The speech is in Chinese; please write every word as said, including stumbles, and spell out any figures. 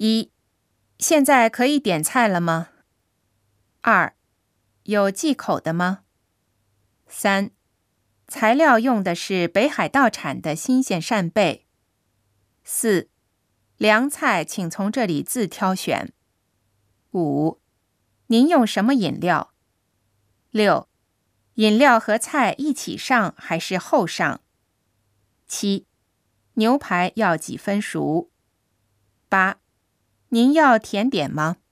一、现在可以点菜了吗？二、有忌口的吗？三、材料用的是北海道产的新鲜扇贝。四、凉菜请从这里自挑选。五、您用什么饮料？六、饮料和菜一起上还是后上？七、牛排要几分熟？八、您要甜点吗？